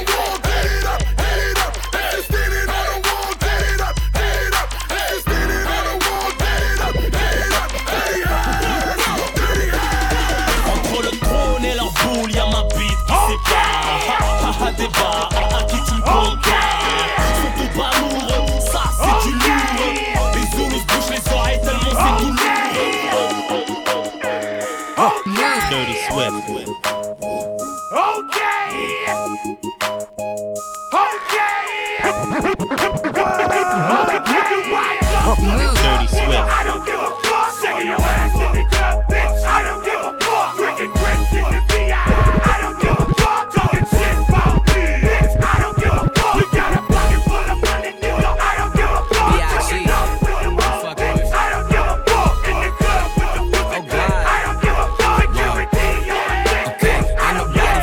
entre le trône et leur boule, y'a ma bite qui sépare. Débat, un qui tu me conquiers. Sont tout pas lourds, ça c'est du lourd. Les zoulous se bouchent les oreilles tellement c'est tout lourd. Dirty Swift. Dirty Swift. I don't give a fuck. Shaking your ass in the club, bitch. I don't give a fuck. Drinking grits in the VI. I don't give a fuck. Talking shit about me, bitch. I don't give a fuck. You got a pocket full of money, nigga. I don't give a fuck. Taking off with the money, bitch. I don't give a fuck. In the club with the pussy, bitch. I don't give a fuck. Security on deck, bitch. I don't give a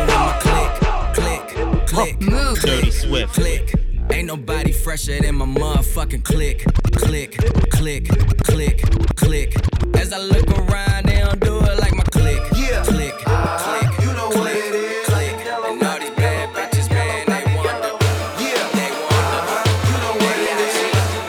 fuck. Click. Dirty Swift. Click. Ain't nobody fresher than my motherfucking click. Click. As I look around, they don't do it like my click. Yeah. Click. You know what it is. And all these bad bitches, man, they wonder. Yeah. They wonder. You know what it is.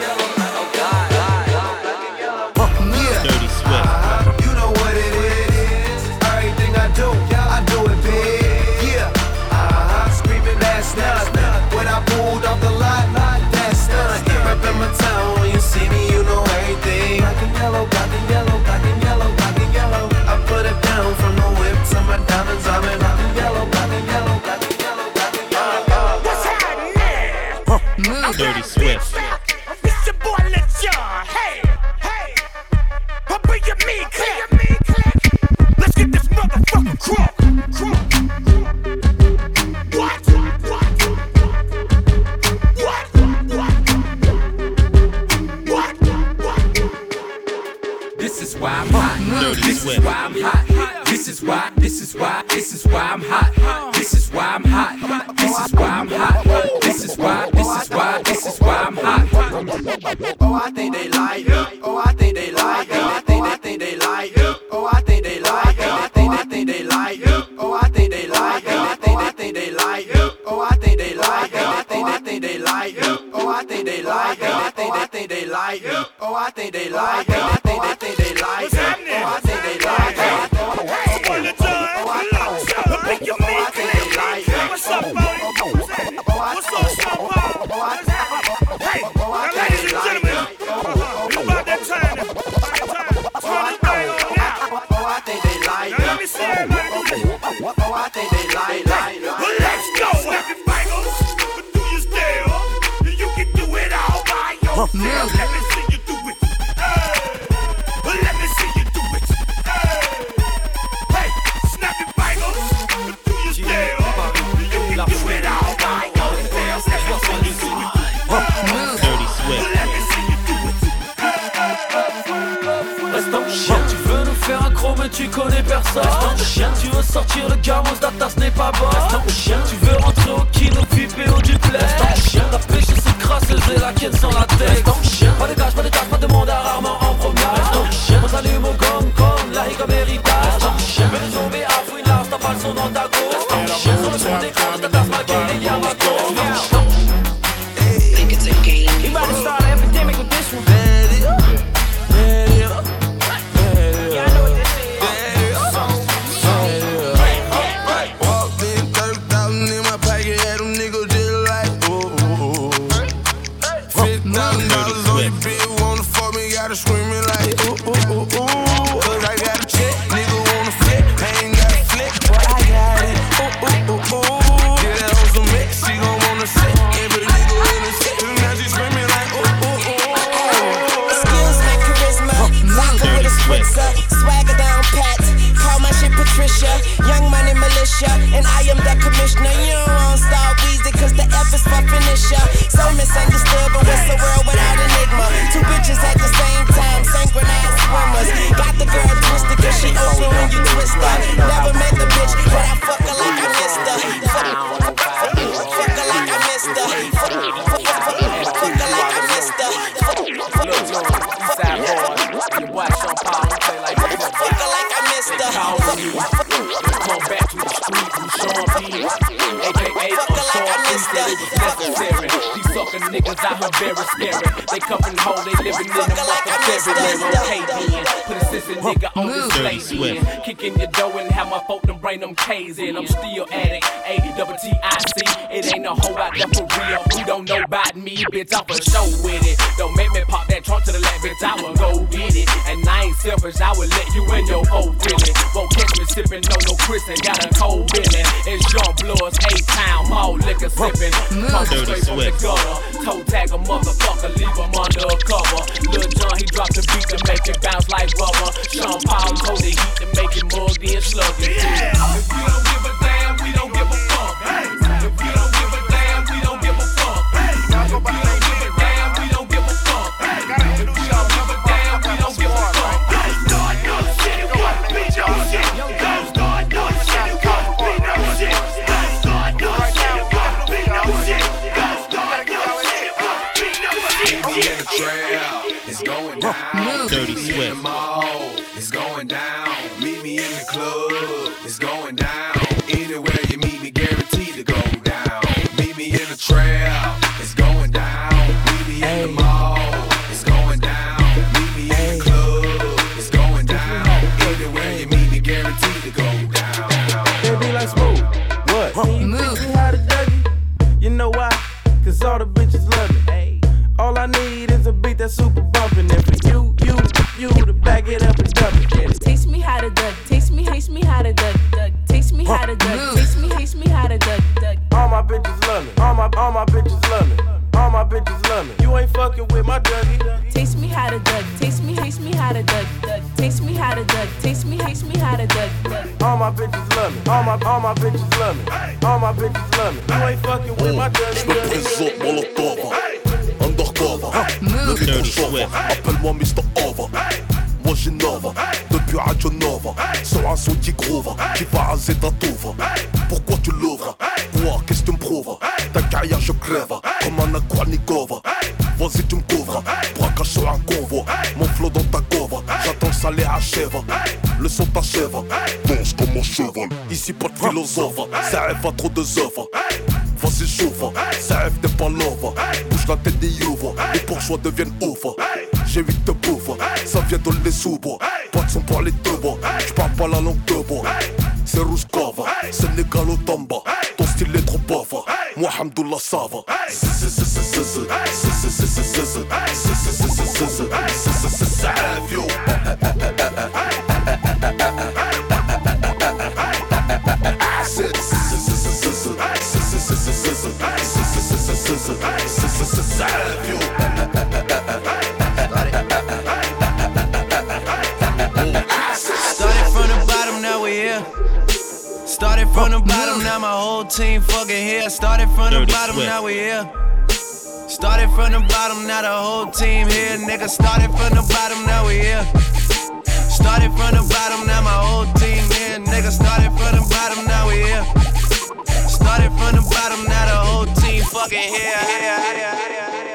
Yeah. Dirty Swift. You know what it is. Everything I do it big. Yeah. Screaming that's not when I pulled off the lot. That's not. Rep in my town when you see me, you know everything. Black and yellow, black and yellow, black and yellow. why I'm hot. This is why I'm hot. This is why I'm hot. This is why I'm hot. This is why I'm hot. This is why I'm hot. Oh, I think they like it. Oh, I think they like it. I think they like it. Oh, I think they like it. I think they like it. Oh, I think they like it. I think they like it. Oh, I think they like it. I think they like it. Oh, I think they like it. I think they like it. Oh, I think they like it. I think they like it. Oh, I think they like it. What's up, Hey, now ladies and gentlemen, about that time. Turn this thing on now. Now let me see everybody do this. Well, let's go, happy bangles. But do you still? You can do it all by yourself. Let me see you do it. Well, let me see you do it. Hey, snap your bangles. But do you still? You can do it all by yourself. That's what's on you. Dirty Swift. Reste en chien, tu veux nous faire un gros mais tu connais personne. Reste en chien, tu veux sortir le gamos, ta tasse n'est pas bonne. Reste en chien, tu veux rentrer au kino, VIP au duplex. Reste en chien, la pêche c'est crasseuse et la ken sans la tête. Reste en chien, pas de gage, pas de monde à rarement en promenade. Reste en chien, on s'allume au gong gong, la hic comme héritage. Reste en chien, mais les zombies à fouinard, t'as pas le son dans ta go. Reste en chien, sur le son d'écran, ta tasse ma gueule et y'a ma go. We about to start an epidemic with this one. Walked in 30,000 in my pocket, had them niggas just like, ooh. $50,000 on your bill, wanna fuck me, gotta screaming like, ooh. Cause I got a check, nigga wanna flip, I ain't got a flip, but I got it, ooh. Get that hoe some mix, she gon' wanna sit, every nigga in the set, now she screaming like, ooh. Skills and charisma, vodka with a spritzer, swagger down pat. Call my shit Patricia, Young Money Militia, and I am the commissioner. You don't want Star Weezy, cause the F is for finisher. So misunderstood, but what's the world without enigma? Two bitches at the same time, synchronized swimmers. Got the girl twisted, cause she open when you twist her. Never met the bitch, but I fuck her like I missed her. Fuck her like I missed her. Fuck her like I missed her. You watch Sean Paul play like that. Fuck her like I missed her. Come back to the street with Sean P. AKA Sean P said it was necessary. These sucker niggas out here very scary. They cuffin' hoe, they living in the motherfucking February. Okay then, put a sissy nigga on this lady. Kicking your dough and have my folk them bring them K's in. I'm still at it, A-double-T-I-C. It ain't no hoe out there for real. Who don't know about me, bitch, I'm for show with it. Don't make me pop that trunk to the left, bitch, I will go get it. And I ain't selfish, I will let you in your whole feeling. Won't catch me sippin', no Chris and got a cold feeling. It's Jean Blood's A-Town, mall liquor sippin'. Talkin' straight from the gutter. Toe tag a motherfucker, leave him under a cover. Lil John, he dropped the beat to make it bounce like rubber. Sean Paul hold the heat to make it mugged in sluggish. If you don't give a damn, we don't give a fuck. If you don't give a damn, we don't give a fuck. If you don't give a damn, we don't give a fuck. If you don't give a damn, we don't give a fuck. Don't start no shit, you gon' beat your shit. Don't start no shit, you gon' beat no shit. Don't start no shit, you gon' beat no shit. Don't start no shit, you gon' beat no shit. Meet me in the trail, it's going down. Dirty Meet me in the Swift. mall, it's going down. Meet me in the club, it's going down. Anywhere you meet me, guaranteed to go down. Meet me in the trail, it's going down. Meet me in the mall, it's going down. Meet me in the club, it's going down. Anywhere you meet me, guaranteed to go down. They be like Smooth, what? You teach me how to Dougie? You know why? Cause all the bitches love me. All I need is a beat that's super bumpin'. And for you to back it up and dump it. Taste me how to Dougie. Taste me how to Dougie. Taste me how to Dougie. Taste me how to Dougie. All my bitches love me. All my bitches love me. All my bitches love me. You ain't fucking with my Dougie. Taste me how to Dougie. Taste me how to Dougie. Taste me how to Dougie. Taste me how to Dougie. All my bitches love me. All my bitches love me. All my bitches love me. You ain't fucking with my Dougie. Undercover, le micro chauffe, appelle-moi Mr. Over. moi j'innove. Depuis Radio Nova, sur un son qui groove, qui va raser ta touve. Pourquoi tu l'ouvres? Quoi, qu'est-ce que tu me prouves? Ta carrière je crève, comme un Aquanikova. Vas-y tu me couvres, braquage sur un convoi. Mon flow dans ta cove, j'attends le salaire achève. Le son t'achève, danse comme un cheval. Ici pas de philosophe, ça rêve à trop de œuvres. Vas-y chauffe, ça rêve t'es pas love. Bouge la tête des youves, les bourgeois deviennent ouf. J'ai 8 de bouffe, ça vient de les sous-bois. Pas de son pour les deux bois, j'parle pas la langue de bois. C'est Rouskova, c'est Négalo Tamba. Ton style est trop pauvre, moi Hamdoullah ça va. Ça rêve yo. Started from the bottom, now we here. Started from the bottom, now my whole team fucking here. Started from the bottom, now we here. Started from the bottom, now the whole team here. Nigga, started from the bottom, now we here. Started from the bottom, now my whole team here. Nigga, started from the bottom, now we here. Started from the bottom, now the whole team fucking here.